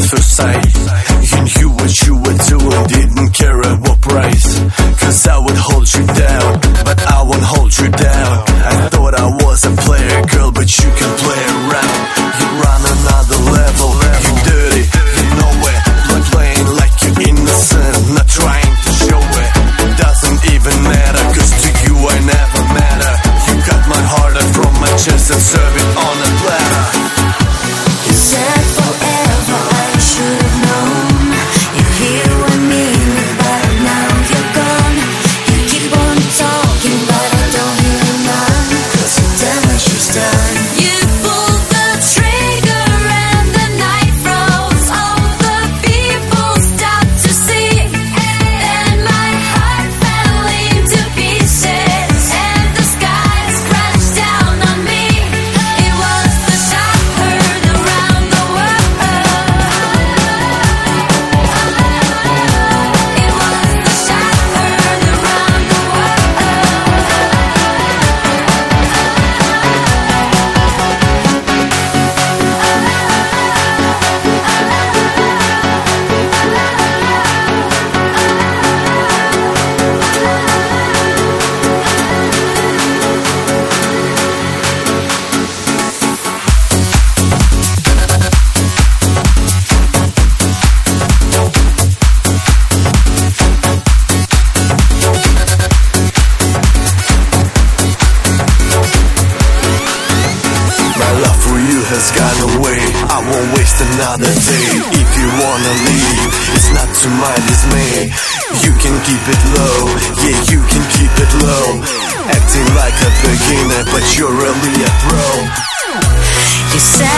first sight. You knew what you were doing, didn't care at what price. Cause I would hold you down, but I won't hold you down. I thought I was a player, girl, but you can play around. You run another level, you dirty, you know it. Not playing like you're innocent, not trying to show it. Doesn't even matter, cause to you I never matter. You cut my heart out from my chest and serve it on a platter. You said forever, I should have known. You're here with me, but now you're gone. You keep on talking, but I don't hear none. Cause the damage is done. You pulled the trigger and the night froze. All the people stopped to see. Then my heart fell into pieces, and the skies crashed down on me. It was the shot heard around the world. It was the shot heard around the world. My love for you has gone away. I won't waste another day. If you wanna leave, it's not to my dismay. You can keep it low, yeah, you can keep it low. Acting like a beginner, but you're really a pro. You said